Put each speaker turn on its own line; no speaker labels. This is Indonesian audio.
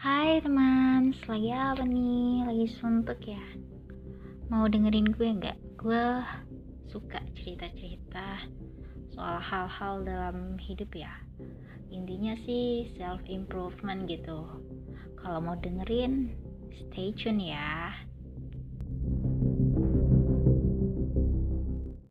Hai teman, lagi apa nih? Lagi suntuk ya? Mau dengerin gue nggak? Gue suka cerita-cerita soal hal-hal dalam hidup ya. Intinya sih self improvement gitu. Kalau mau dengerin, stay tune ya.